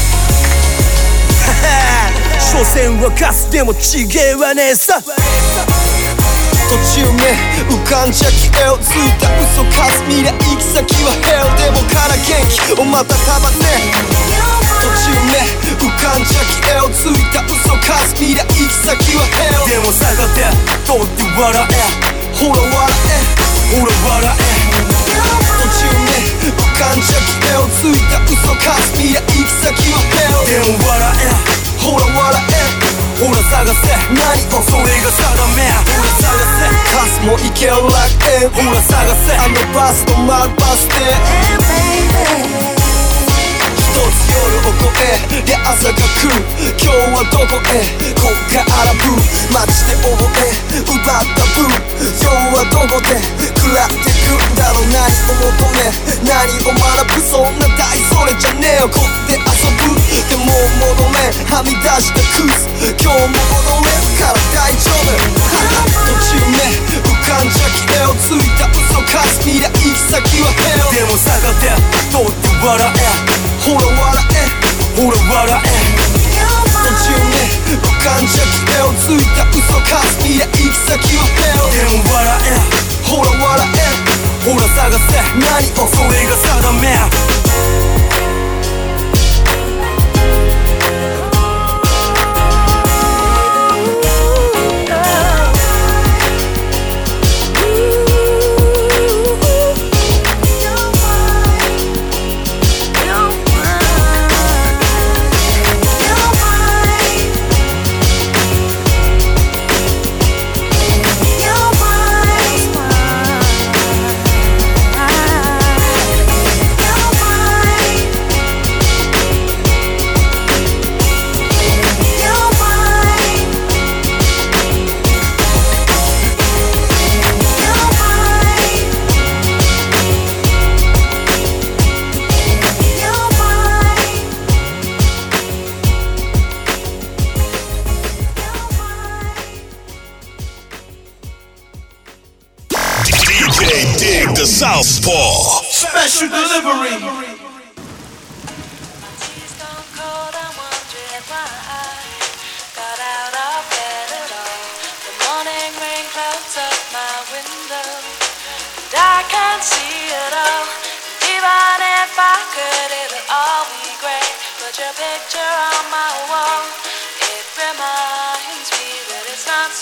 所詮はカスでもちげえわねえさ途中目浮かんじゃ消えをついた嘘数未来行き先はヘルでもから元気をまた束ね途中目浮かんじゃ消えをついた嘘数未来行き先はヘルでも下がって通って笑えほら笑えほら笑え途中目浮かんじゃ消えをついた嘘数未来行き先はヘルでも笑えほら笑えほら探せ何をそれが定めほら探せカスもいける楽園ほら探せあのバスの丸バス停一つ夜を越えりゃ朝が来る今日はどこへこっからブー街で覚え奪ったブー今日はどこで食らってくんだろう何を求め何を学ぶそんな大それじゃねえよこって遊ぶでも戻れはみ出したクズ今日も戻れるから大丈夫途中目浮かんじゃ消えをついた嘘数未来行き先はヘルでも下がって通って笑えほら笑えほら笑え途中目浮かんじゃ消えをついた嘘数未来行き先はヘルでも笑えほら笑えほら探せ何をそれが定め Southpaw Special delivery. Picture on my wall, it reminds me that it's not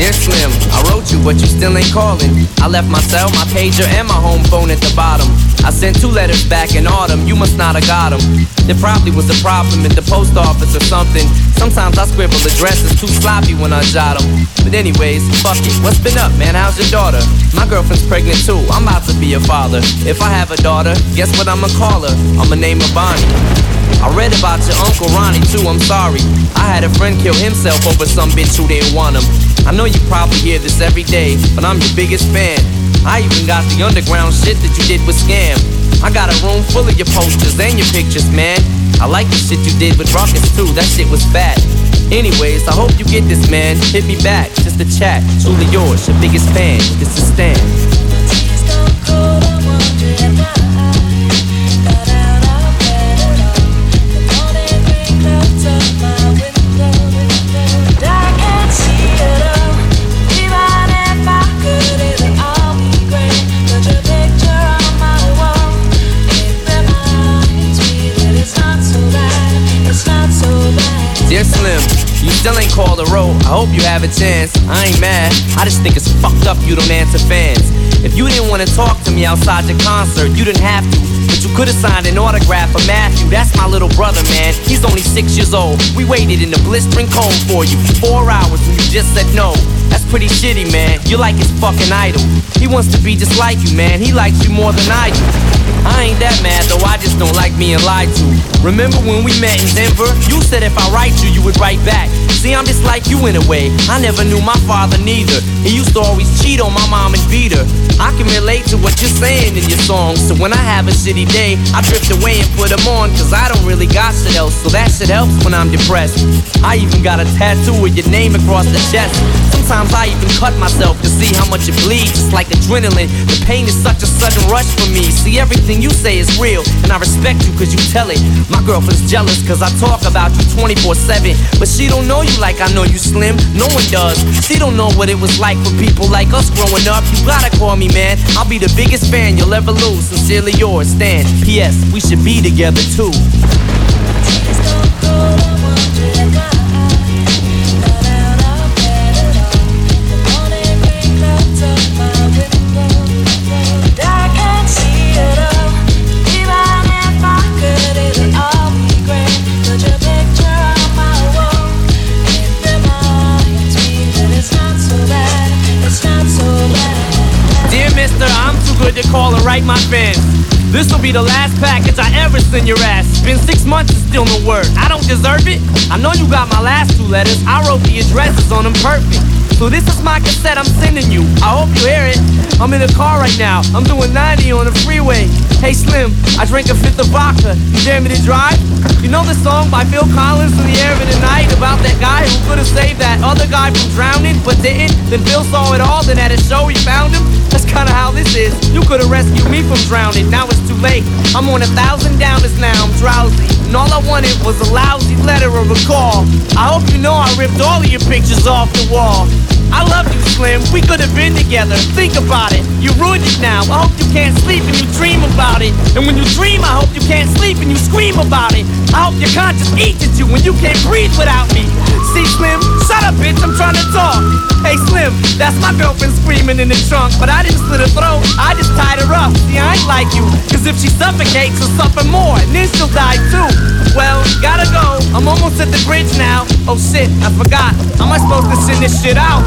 Dear Slim, I wrote you, but you still ain't calling. I left my cell, my pager, and my home phone at the bottom. I sent two letters back in autumn, you must not have got them. There probably was a problem at the post office or something. Sometimes I scribble addresses too sloppy when I jot them. But anyways, fuck it, what's been up, man? How's your daughter? My girlfriend's pregnant too, I'm about to be a father. If I have a daughter, guess what I'ma call her? I'ma name her Bonnie. I read about your Uncle Ronnie too, I'm sorry. I had a friend kill himself over some bitch who didn't want him. I know you probably hear this every day, but I'm your biggest fan. I even got the underground shit that you did with Scam. I got a room full of your posters and your pictures, man. I like the shit you did with Ruckus too, that shit was fat. Anyways, I hope you get this, man. Hit me back, just a chat. Truly yours, your biggest fan. This is Stan. Dear Slim, you still ain't called a row. I hope you have a chance. I ain't mad, I just think it's fucked up you don't answer fans. If you didn't want to talk to me outside your concert, you didn't have to. But you could've signed an autograph for Matthew. That's my little brother, man. He's only six years old. We waited in the blistering cold for you for four hours and you just said no. That's pretty shitty, man. You're like his fucking idol. He wants to be just like you, man. He likes you more than I do. I ain't that mad though, I just don't like being lied to. Remember when we met in Denver? You said if I write you, you would write back. See, I'm just like you in a way. I never knew my father neither. He used to always cheat on my mom and beat her. I can relate to what you're saying in your songs. So when I have a shitty day, I drift away and put them on. Cause I don't really got shit else, so that shit helps when I'm depressed. I even got a tattoo with your name across the chest. Sometimes I even cut myself to see how much it bleeds. It's like adrenaline. The pain is such a sudden rush for me. See, everything you say is real, and I respect you cause you tell it. My girlfriend's jealous cause I talk about you twenty-four seven. But she don't know you like I know you, Slim. No one does. She don't know what it was like for people like us growing up. You gotta call me, man. I'll be the biggest fan you'll ever lose. Sincerely yours, Stan. P S. We should be together too. I'm too good to call and write my fans. This'll be the last package I ever send your ass. It's been six months and still no word. I don't deserve it. I know you got my last two letters. I wrote the addresses on them perfect. So this is my cassette I'm sending you. I hope you hear it. I'm in a car right now. I'm doing ninety on the freeway. Hey Slim, I drank a fifth of vodka. You dare me to drive? You know the song by Phil Collins, In the Air of the Night, about that guy who could have saved that other guy from drowning but didn't? Then Phil saw it all, then at a show he found him. That's kinda how this is. You could have rescued me from drowning. Now it's too late. I'm on a thousand downers now. I'm drowsy. And all I wanted was a lousy letter or a call. I hope you know I ripped all of your pictures off the wall. I love you, Slim. We could have been together. Think about it. You ruined it now. I hope you can't sleep and you dream about it. And when you dream, I hope you can't sleep and you scream about it. I hope your conscience eats at you when you can't breathe without me. See, Slim? Shut up, bitch. I'm trying to talk. Hey, Slim. That's my girlfriend screaming in the trunk. But I didn't slit her throat. I just tied her up. See, I ain't like you. Cause if she suffocates, she'll suffer more. And then she'll die too. Well, gotta go. I'm almost at the bridge now. Oh shit, I forgot. How am I supposed to send this shit out?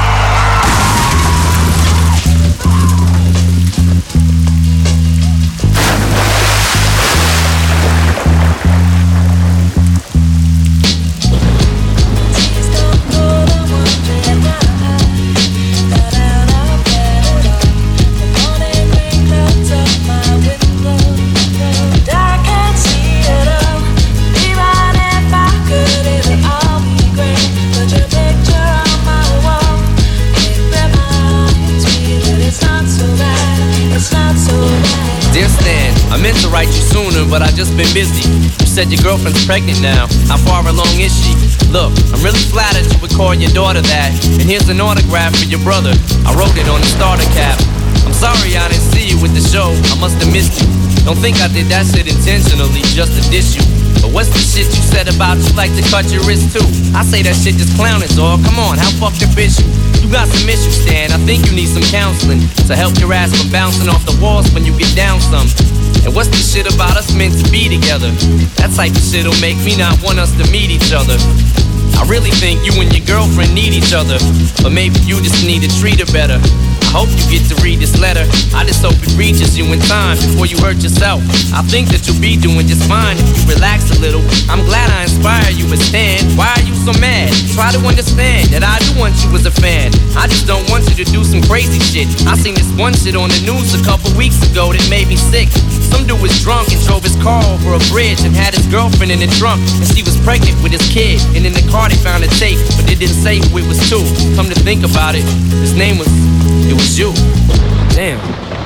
But I just been busy. You said your girlfriend's pregnant now. How far along is she? Look, I'm really flattered you would call your daughter that. And here's an autograph for your brother. I wrote it on the starter cap. I'm sorry I didn't see you with the show. I must have missed you. Don't think I did that shit intentionally just to diss you. But what's the shit you said about you like to cut your wrist too? I say that shit just clowning, dog. Come on, how fucking bitch you? You got some issues, Stan. I think you need some counseling to help your ass from bouncing off the walls when you get down some. And what's the shit about us meant to be together? That type of shit'll make me not want us to meet each other. I really think you and your girlfriend need each other, but maybe you just need to treat her better. I hope you get to read this letter. I just hope it reaches you in time before you hurt yourself. I think that you'll be doing just fine if you relax a little. I'm glad I inspire you, but Stan, why are you so mad? Try to understand that I do want you as a fan. I just don't want you to do some crazy shit. I seen this one shit on the news a couple weeks ago that made me sick. Some dude was drunk and drove his car over a bridge and had his girlfriend in the trunk, and she was pregnant with his kid. And in the car they found a tape, but they didn't say who it was to. Come to think about it, his name was, it was you. Damn.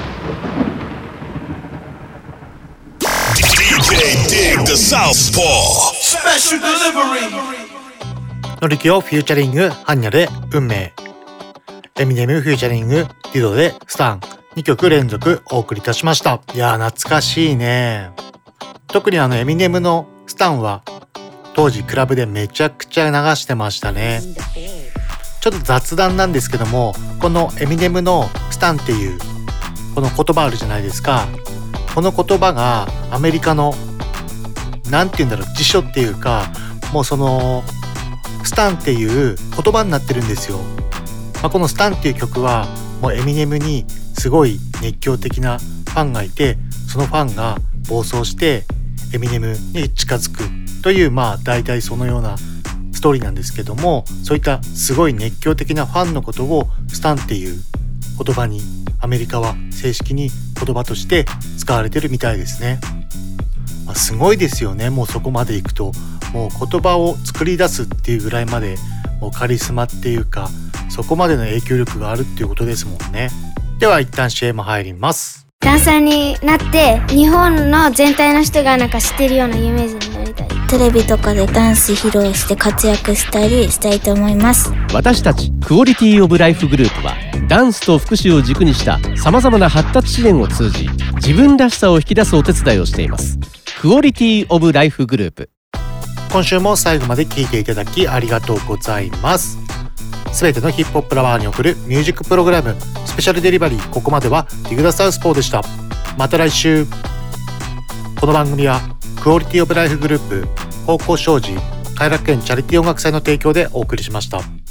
D J Dig the Southpaw Special Delivery のりきをフューチャリングハンニャで運命、エミネムフューチャリングディドでスタン、にきょく連続お送りいたしました。いやー懐かしいね。特にあのエミネムのスタンは当時クラブでめちゃくちゃ流してましたね。ちょっと雑談なんですけども、このエミネムのスタンっていうこの言葉あるじゃないですか。この言葉がアメリカのなんて言うんだろう、辞書っていうか、もうそのスタンっていう言葉になってるんですよ。まあ、このスタンっていう曲はもうエミネムにすごい熱狂的なファンがいて、そのファンが暴走してエミネムに近づくという、まあ大体そのようなストーリーなんですけども、そういったすごい熱狂的なファンのことをスタンっていう言葉にアメリカは正式に言葉として使われてるみたいですね。まあ、すごいですよね。もうそこまでいくともう言葉を作り出すっていうぐらいまでもうカリスマっていうか、そこまでの影響力があるっていうことですもんね。では一旦 シーエム 入ります。 ダンサーになって日本の全体の人がなんか知ってるような有名人になりたい。 テレビとかでダンス披露して活躍したりしたいと思います。 私たちクオリティオブライフグループはダンスと福祉を軸にしたさまざまな発達支援を通じ自分らしさを引き出すお手伝いをしています。クオリティオブライフグループ、 今週も最後まで聞いていただきありがとうございます。すべてのヒップホップラバーに送るミュージックプログラムスペシャルデリバリー、ここまではディグダサウスポーでした。また来週。この番組はクオリティオブライフグループ、方向障子、偕楽園チャリティー音楽祭の提供でお送りしました。